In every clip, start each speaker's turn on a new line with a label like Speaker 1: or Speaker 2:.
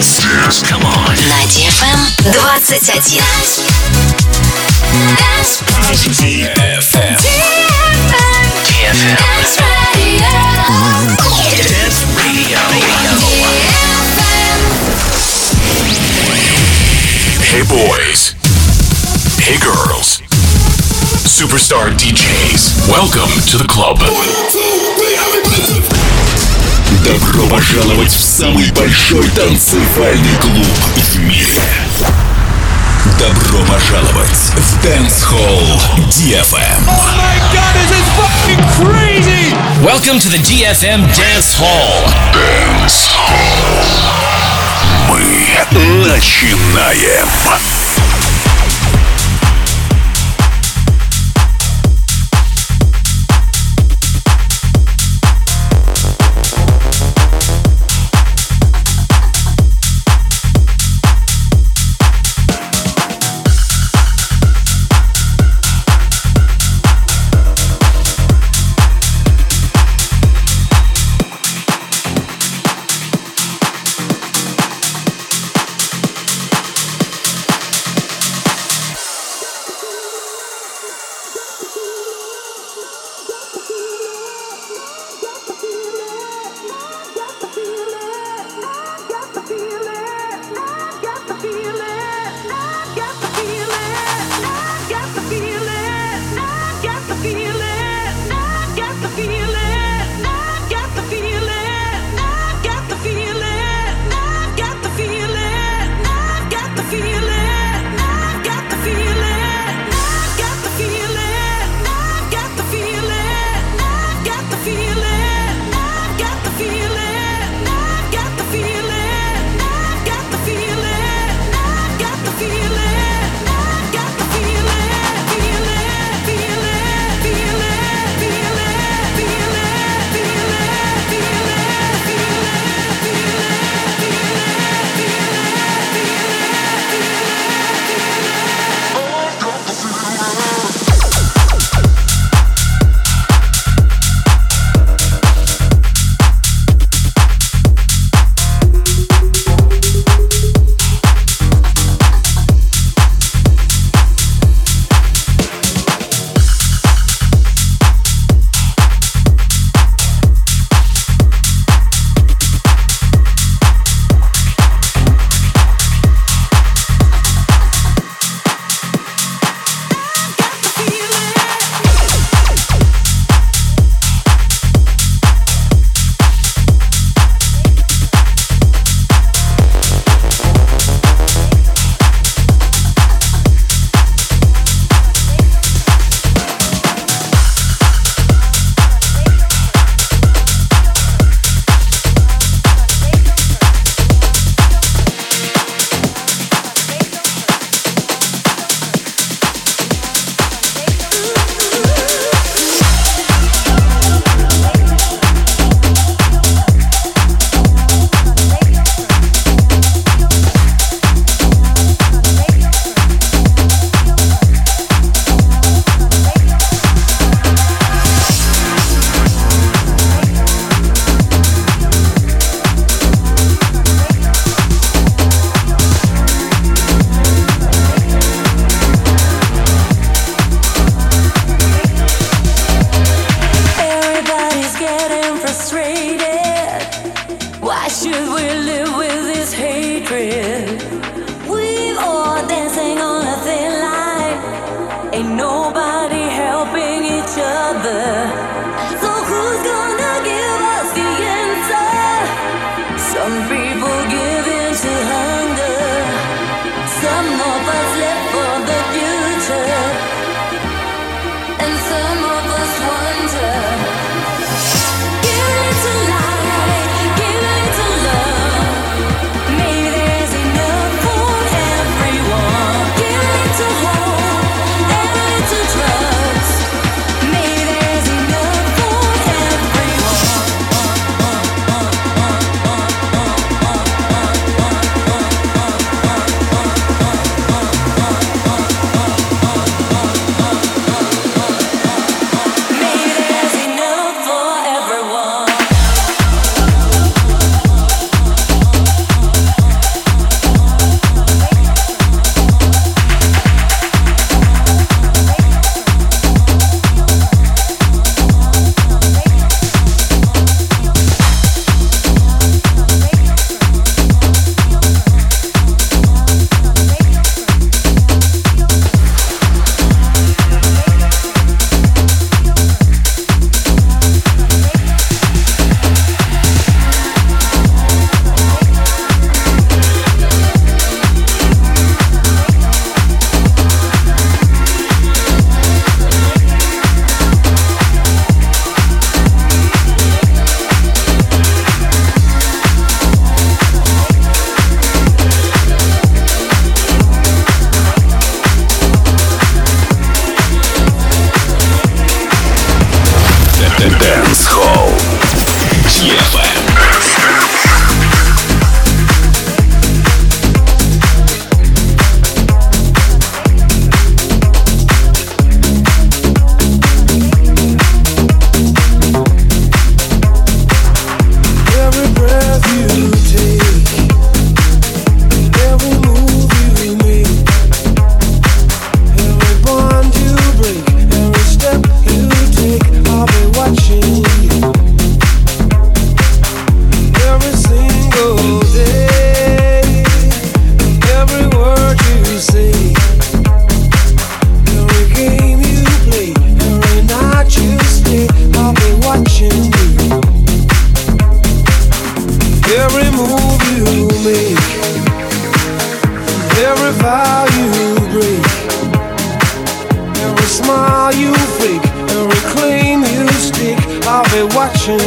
Speaker 1: Come on.
Speaker 2: На DFM 21.
Speaker 1: DFM. Dance Radio. Hey boys. Hey girls. Superstar DJs. Welcome to the club.
Speaker 3: Добро пожаловать в самый большой танцевальный клуб в мире. Добро пожаловать в Dance Hall DFM.
Speaker 4: Oh my God, this is fucking crazy!
Speaker 5: Welcome to the DFM Dance Hall.
Speaker 3: Dance Hall. Мы начинаем.
Speaker 6: Maybe there's enough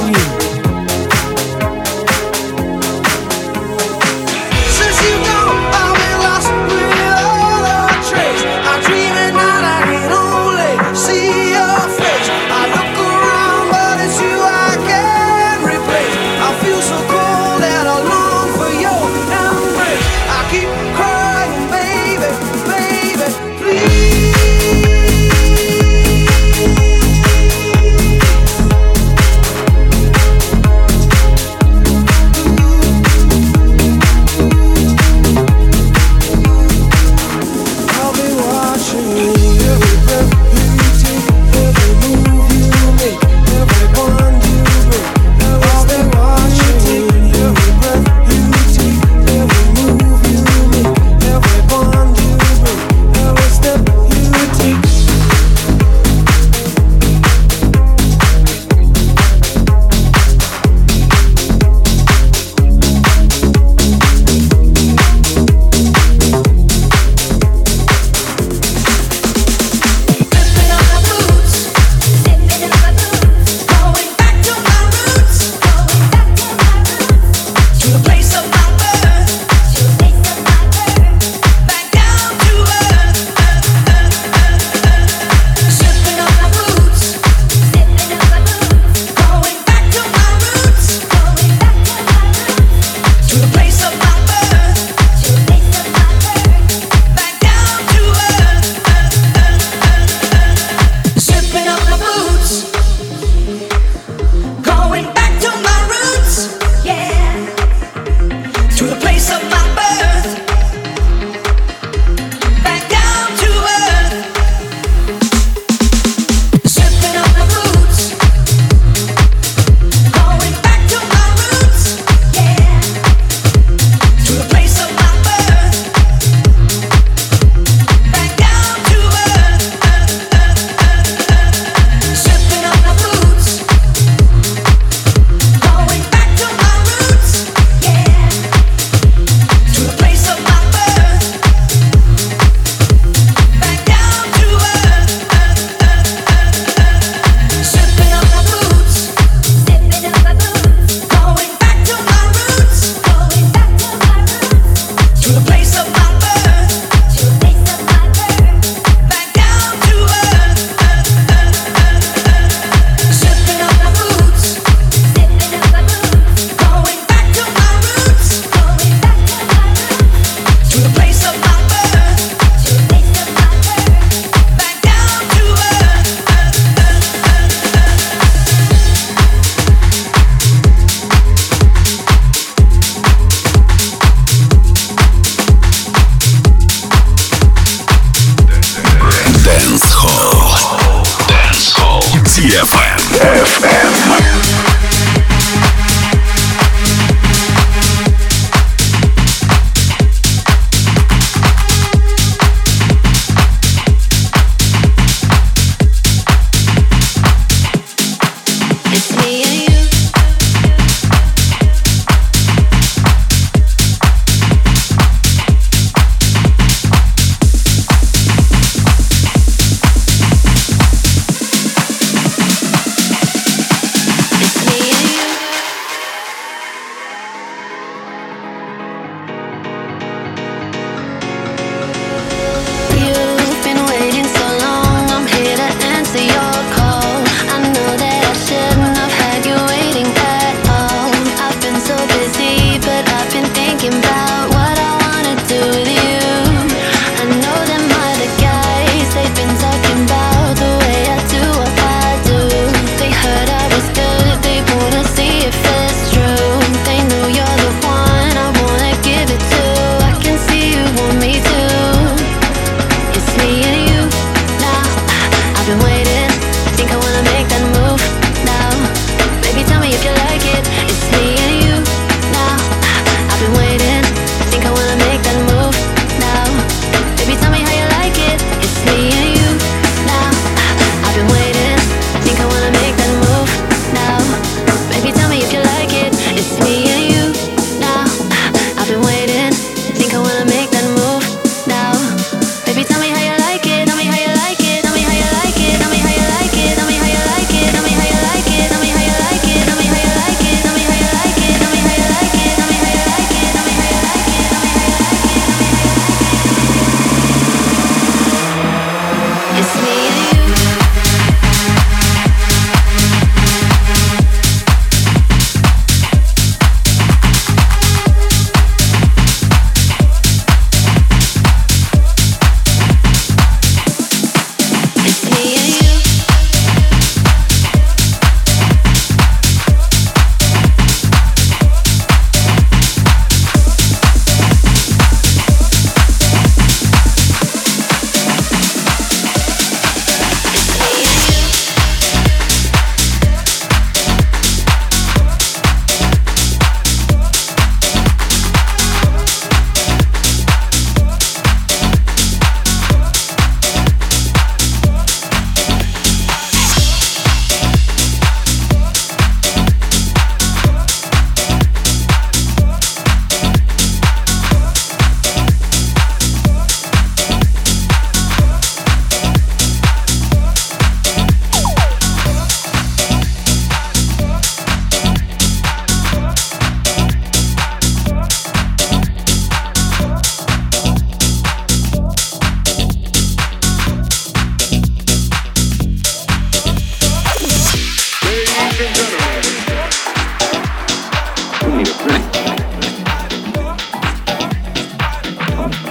Speaker 4: loving you. Since you gone, I've been lost without a trace. I'm dreaming that I can only see your face. I look around, but it's you I can't replace. I feel so cold and I long for your embrace. I keep crying, baby, baby, please.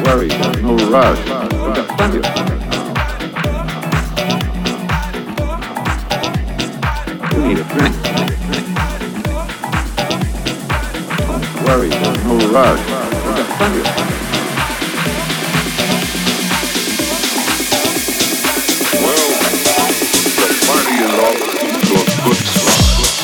Speaker 6: worry, there's no rush. We've got plenty of time. You need a drink. Don't worry, there's no rush. We've got plenty of time.
Speaker 3: Well, the party is off to a good start.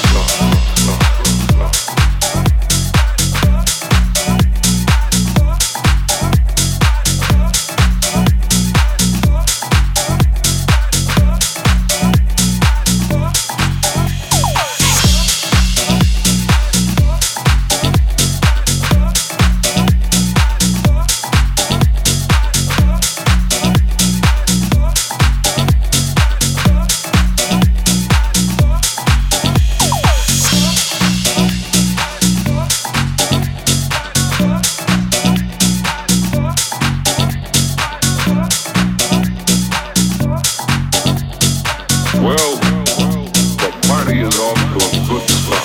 Speaker 3: Well, the party is off to a good start.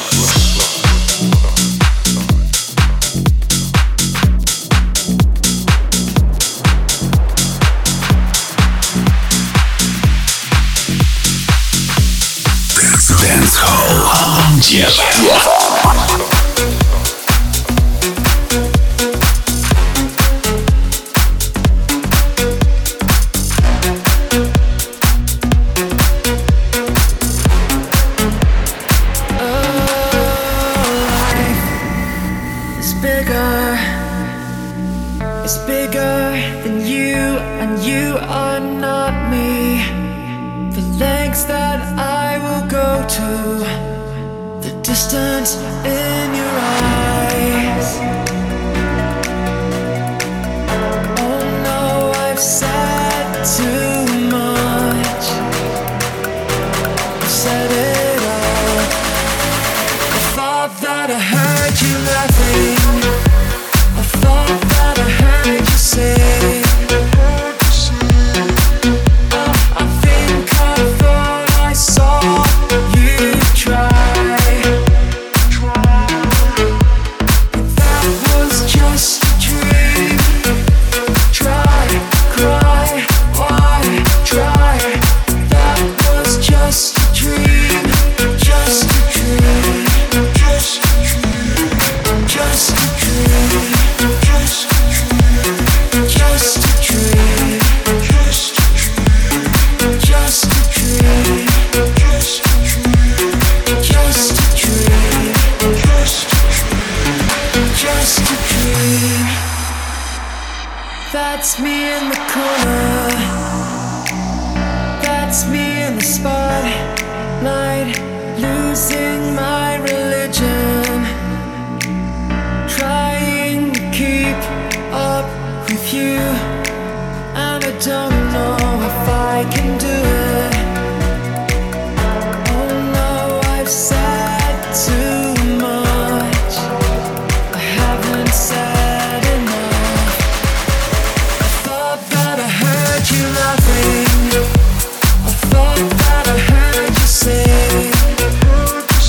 Speaker 1: Dance Hall on DFM.
Speaker 4: It's bigger than you, and you are not me. The lengths that I will go to, the distance in your eyes. Oh no, I've said too much. I've said it all. I thought that I heard you laughing. I thought that I heard you say, I think I thought I saw you try. That was just a dream. Try, cry, why try? That was just a dream. Just a dream. Just a dream. Just a dream. Just a dream. Just a dream. Just a dream. Just a dream. Just a dream. Just a dream. Just a dream. That's me in the corner. That's me in the spotlight, losing my religion. Trying to keep up with you, and I don't know if I can do it. Oh no, I've said too much. I haven't said enough. I thought that I heard you laughing. I thought that I heard you say,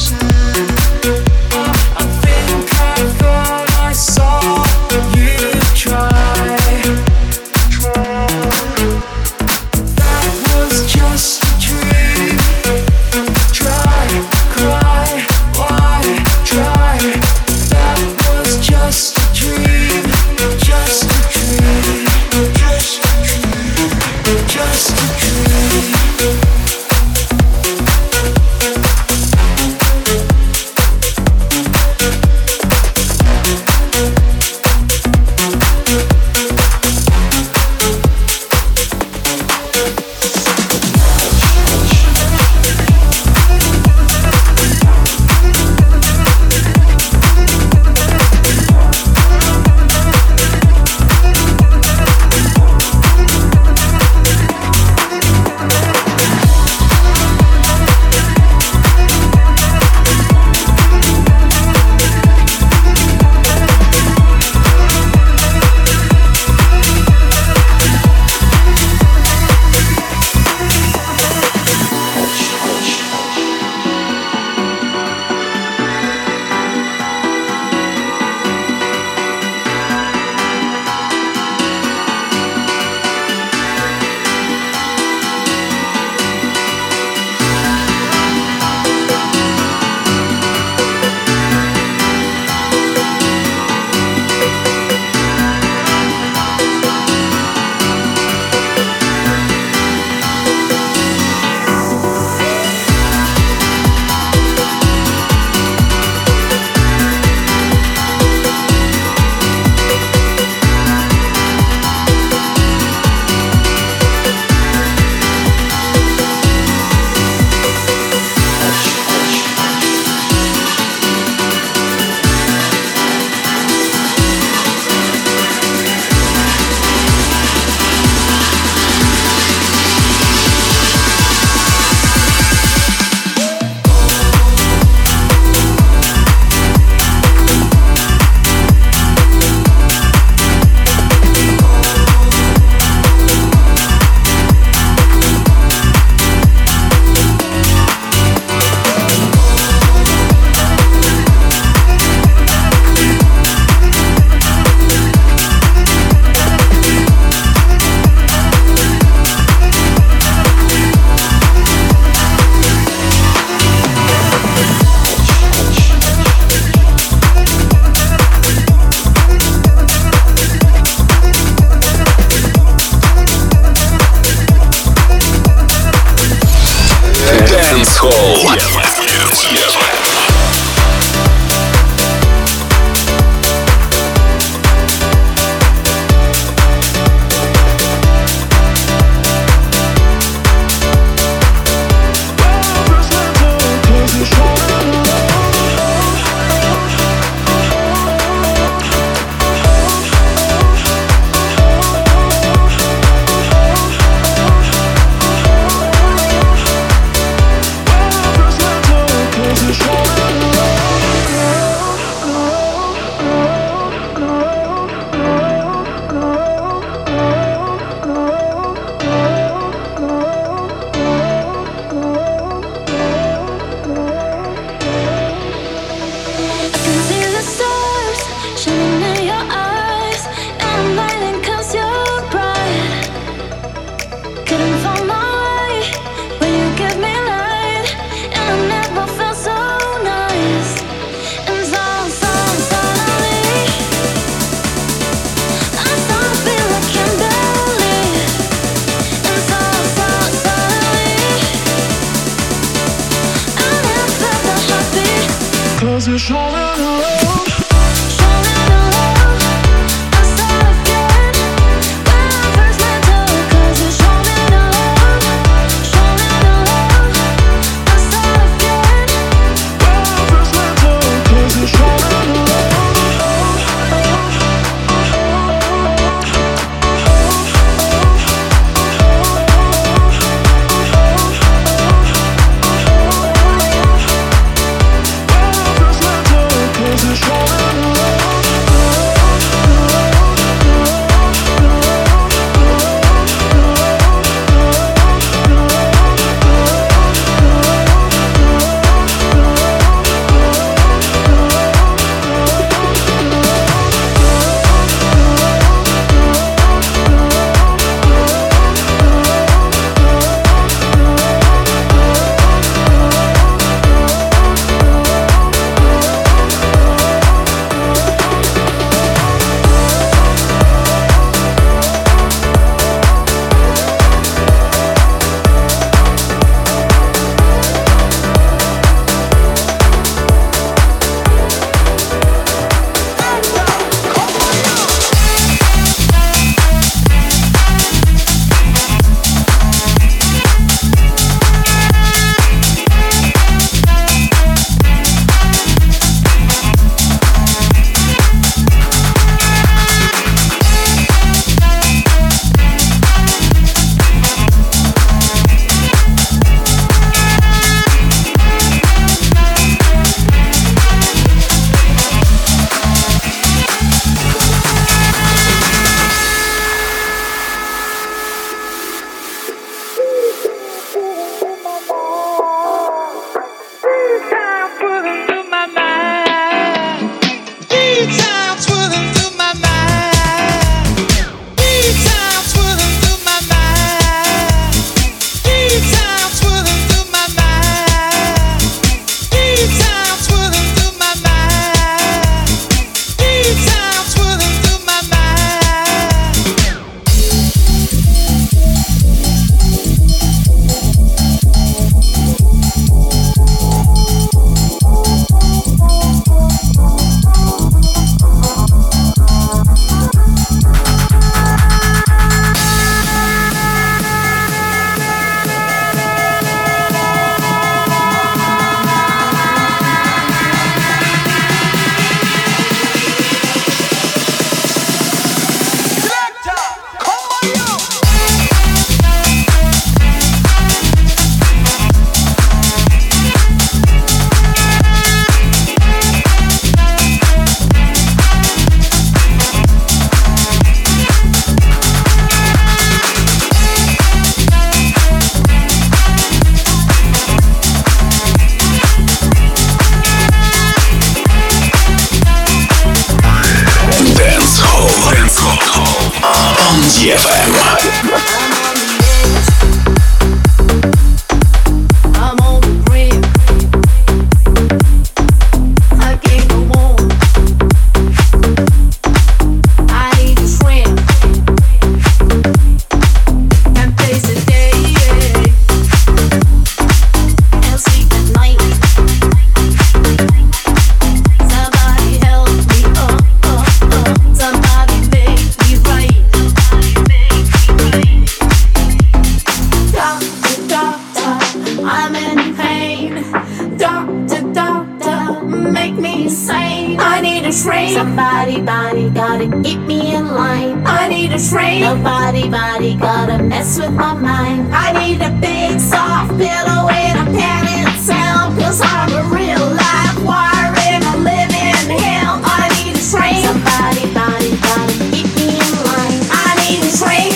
Speaker 7: Somebody gotta keep me in line. I need a train. Nobody gotta mess with my mind. I need a big soft pillow and a panic sound. Cause I'm a real life wire in a living hell. I need a train. Somebody gotta keep me in line. I need a train.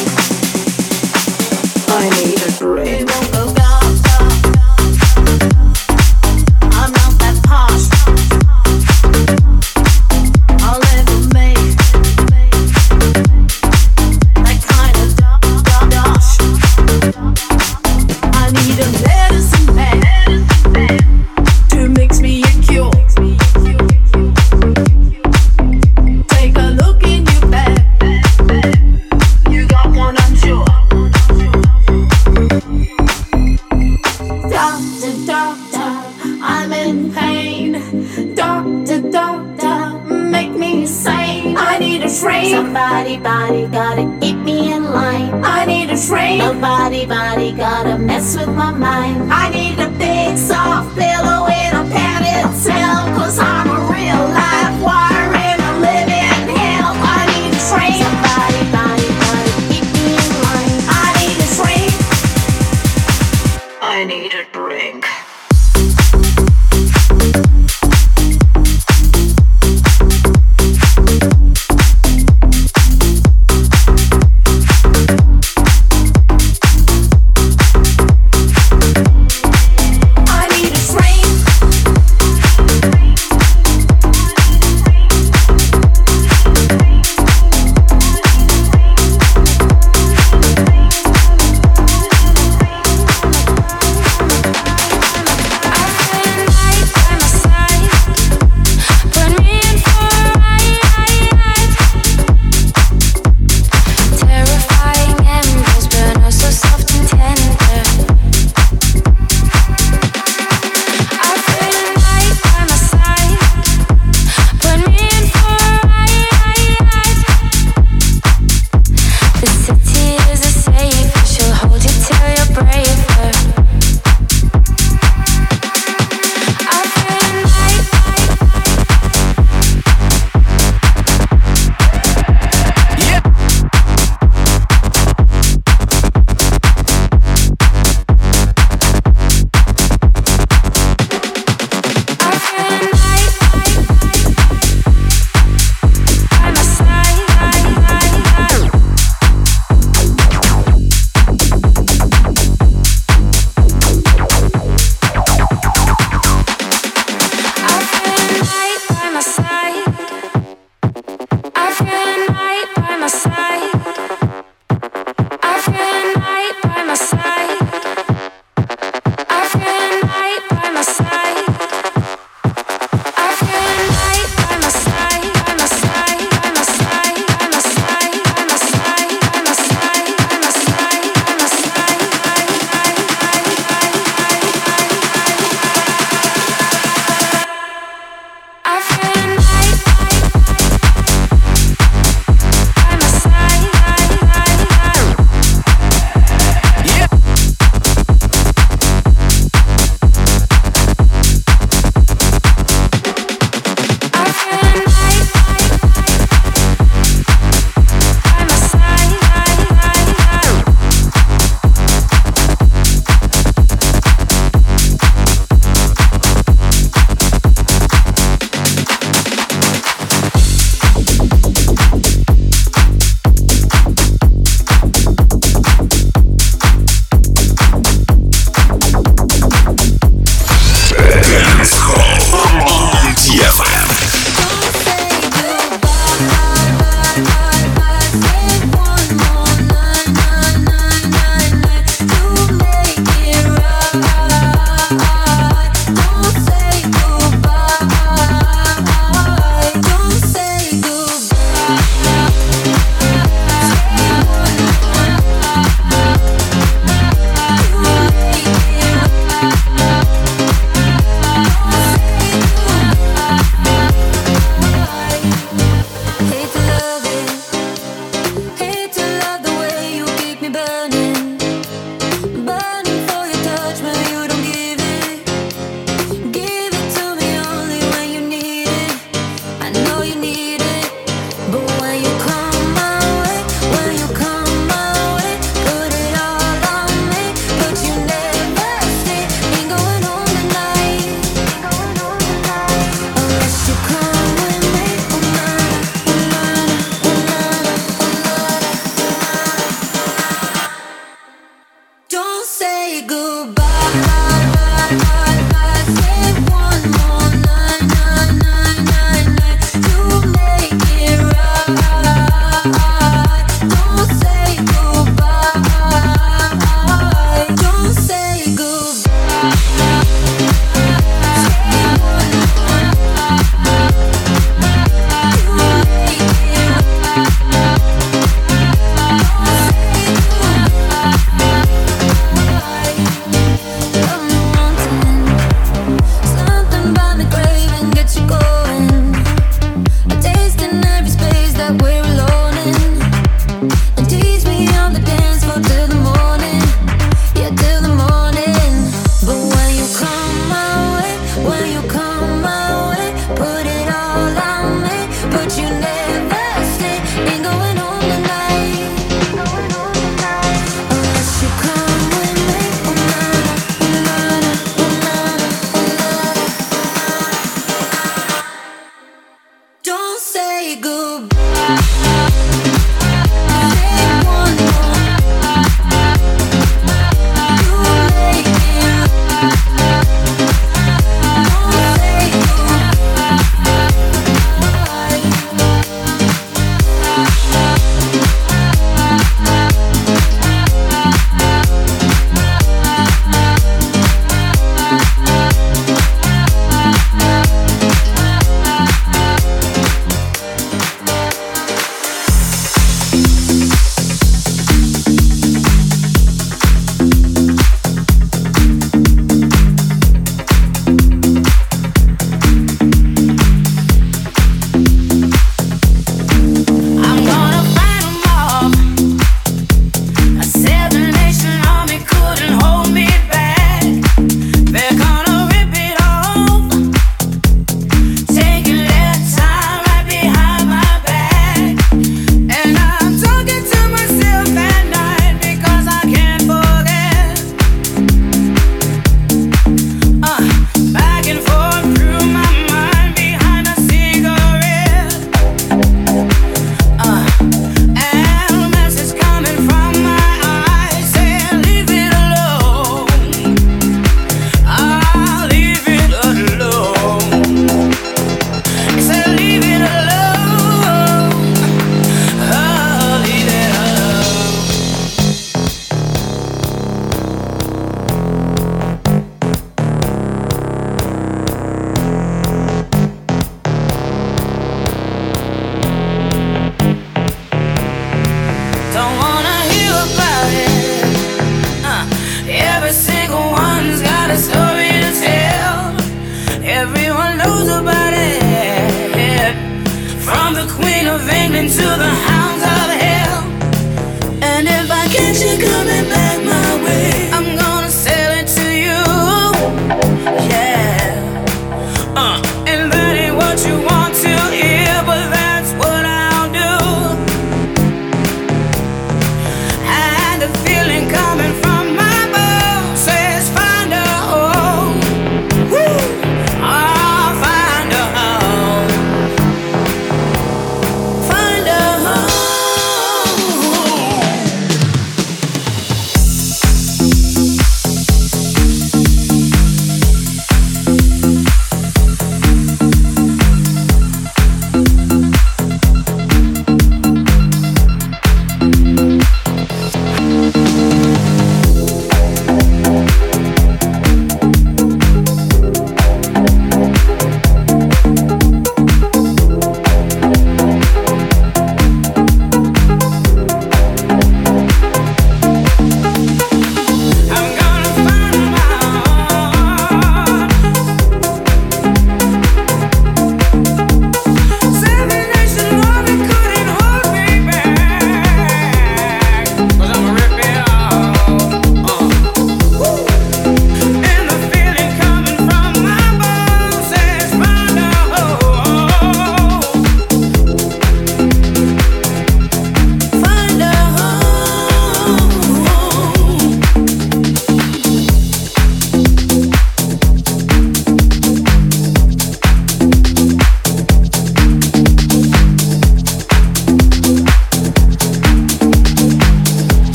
Speaker 7: I need a train. I'm not that posh. I'll never make that kind of dosh. I need a medicine man to Somebody gotta keep me in line. I need a train. Nobody gotta mess with my mind. I need a big soft pillow in a padded cell, 'cause I'm a real life wire in a living hell. I need a train. Somebody gotta keep me in line. I need a train. I need a drink.
Speaker 4: I need a train.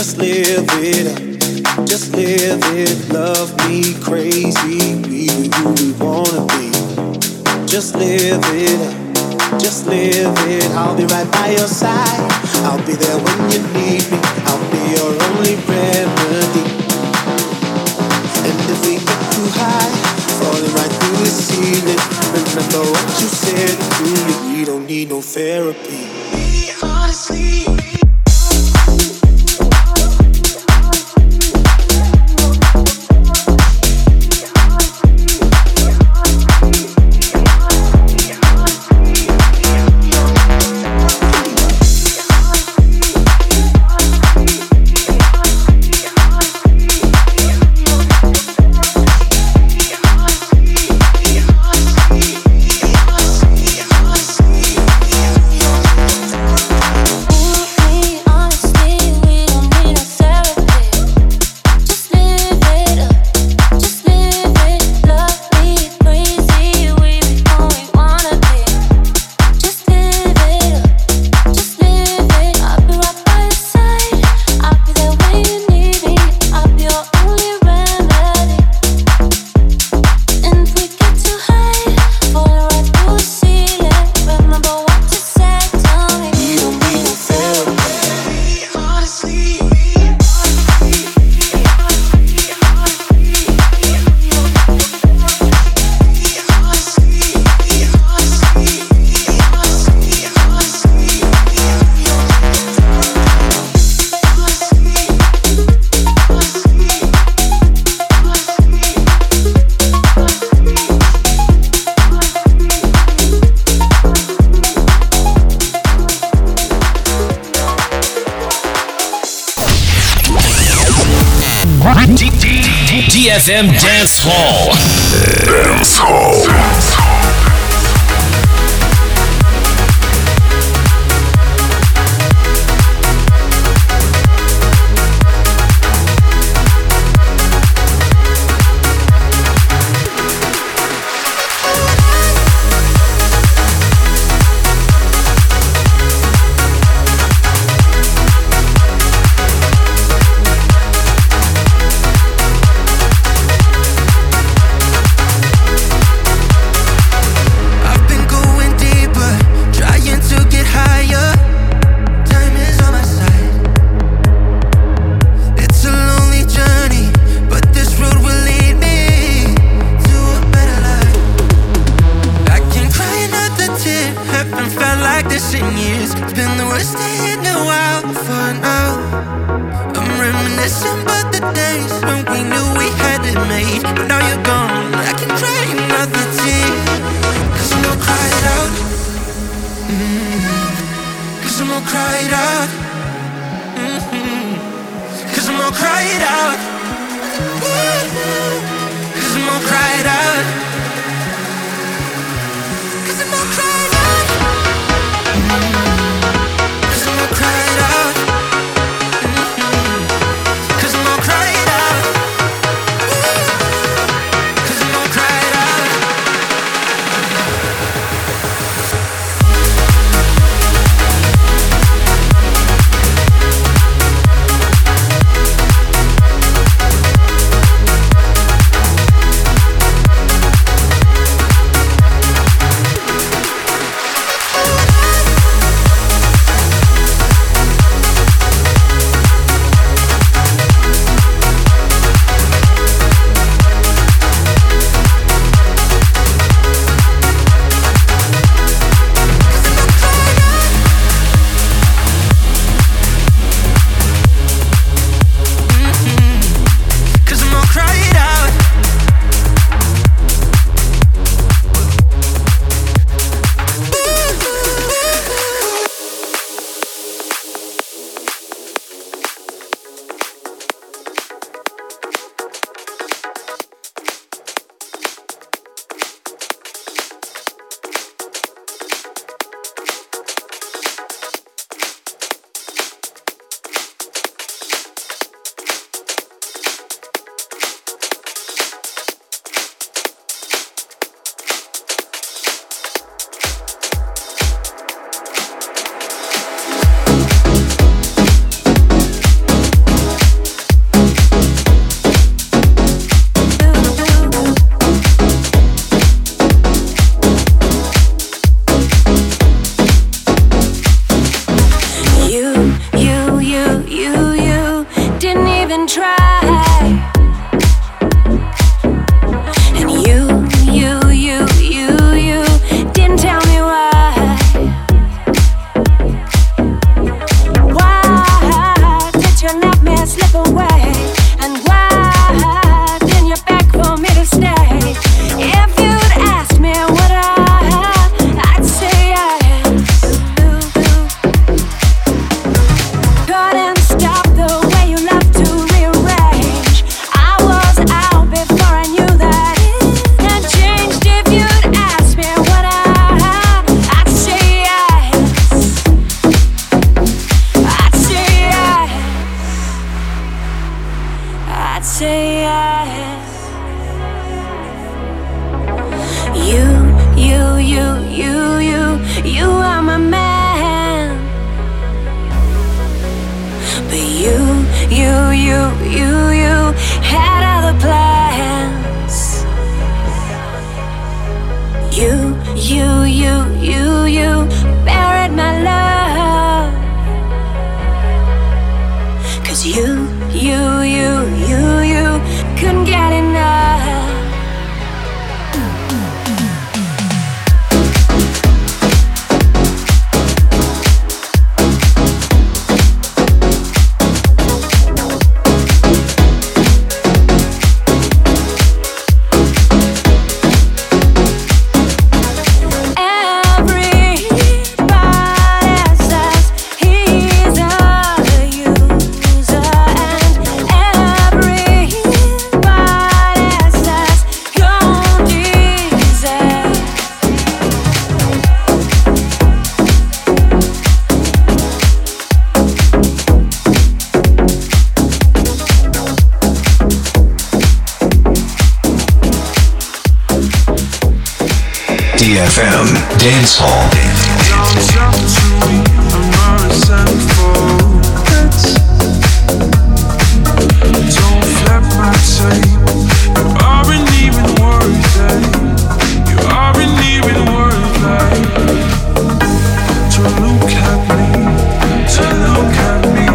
Speaker 8: Just live it up, just live it. Love me crazy, be who we wanna be. Just live it up, just live it. I'll be right by your side, I'll be there when you need me. I'll be your only remedy. And if we get too high, falling right through the ceiling, remember what you said to me, we don't need no therapy. Honestly,
Speaker 5: DFM Dance Hall.
Speaker 1: Dance Hall. GFM Dance Hall.
Speaker 4: Don't flip my tape. You aren't even worth it. You aren't even worth it. To look at me, to look at me.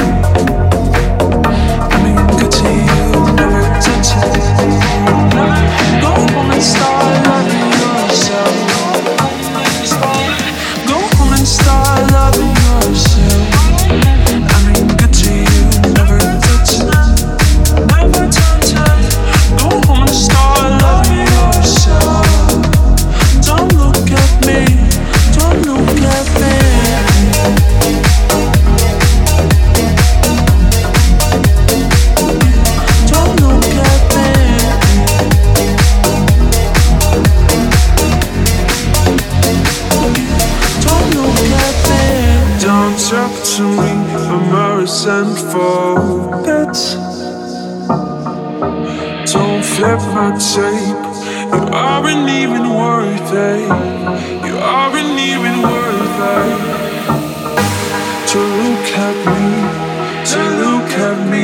Speaker 4: I mean, good to you, never touch it. Go home and start loving yourself. Go home and start loving yourself. I mean, good to you, never touch it. Never touch it. Go home and start loving yourself. Don't look at me. Don't look at me. Don't look at me. Don't look at me. Don't talk to me. I'm a resentful bitch. Don't flip my tape. You aren't even worth it. You aren't even worth it. To look at me, to look at me.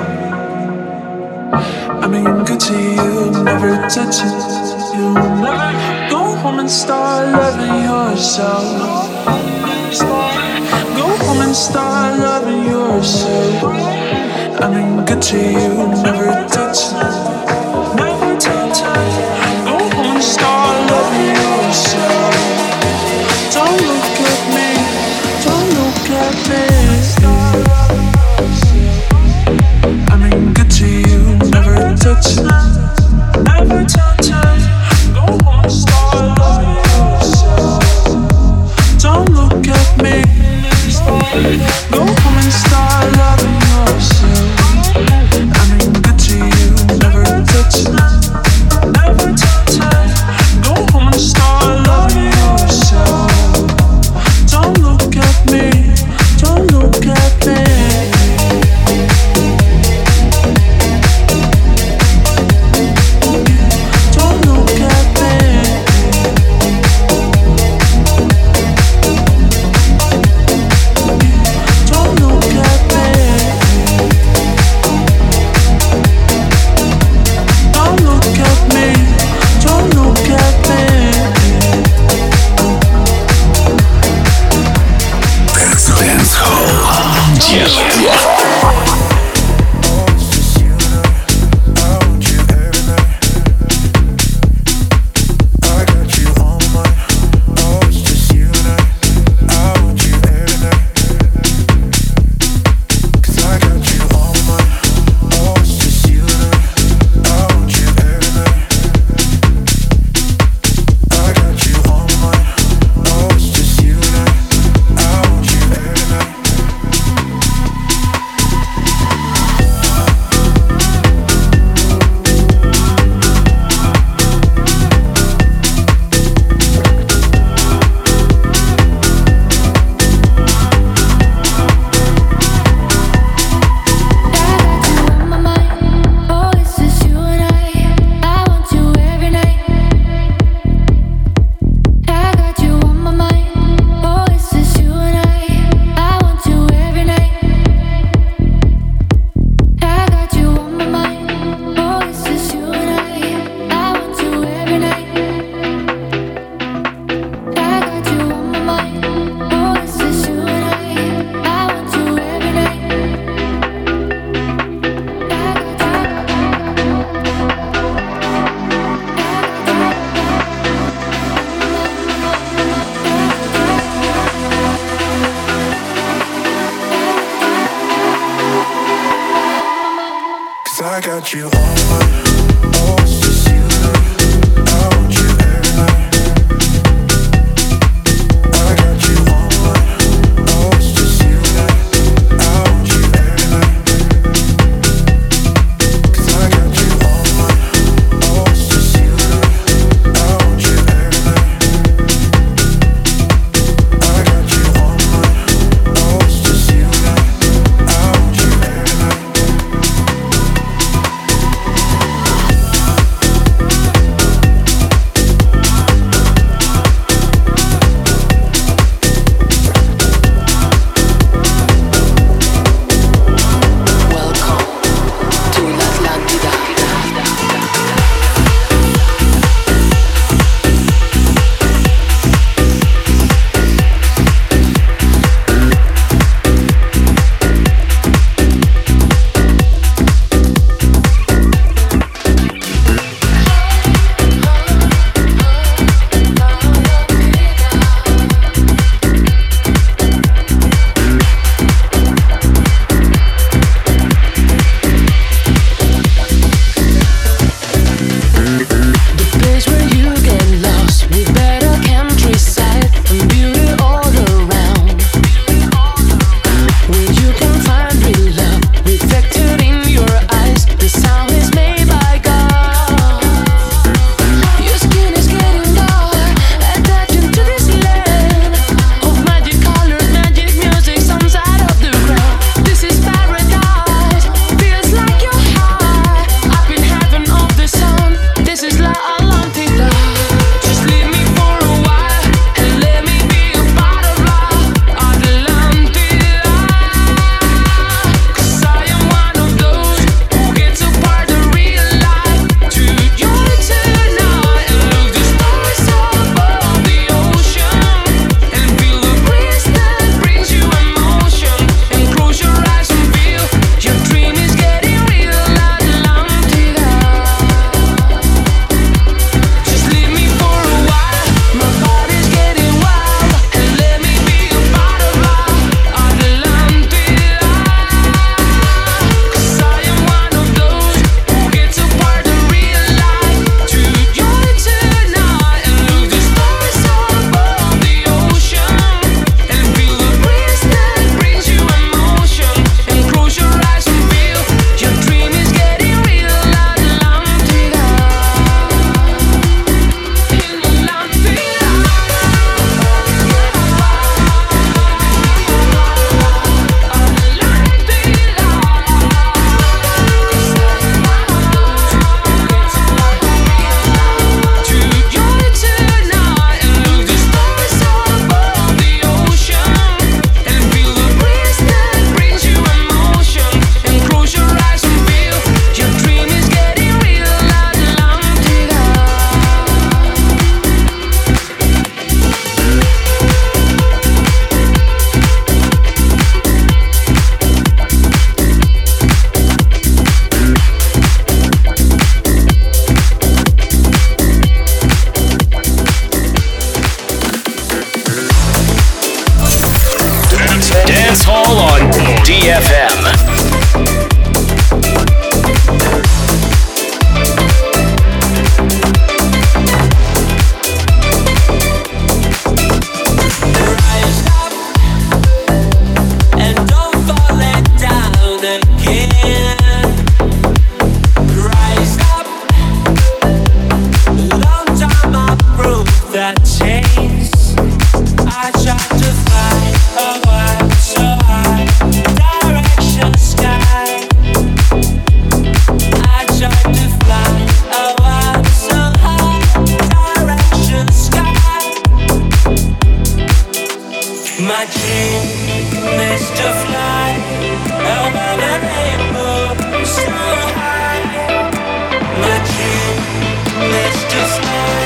Speaker 4: I mean, good to you, never touch it. You never go home and start loving yourself. Go home and start loving yourself. I mean, good to you, never touch it. Never touch it. Go home and start loving yourself. Don't look at me. Don't look at me. I mean, good to you, never touch it. Never touch it. Go home and start loving yourself. Don't look at me. Go home and start loving yourself. I mean, good to you, never touch it. Never touch it. Go home and start loving yourself. Don't look at me. Don't look at me. Don't look at me. Don't look at me. Don't look at me. Don't look at me.
Speaker 1: Dance Hall.
Speaker 9: I got you on my, oh, it's just you and I want you every night. I got you on my, oh, it's just you and I want you every night. 'Cause I got you on my, oh, it's just you and I want you every night. I got you on my, oh, it's just you and I want you every night.
Speaker 5: Dance Hall on DFM.
Speaker 10: Let's just fly.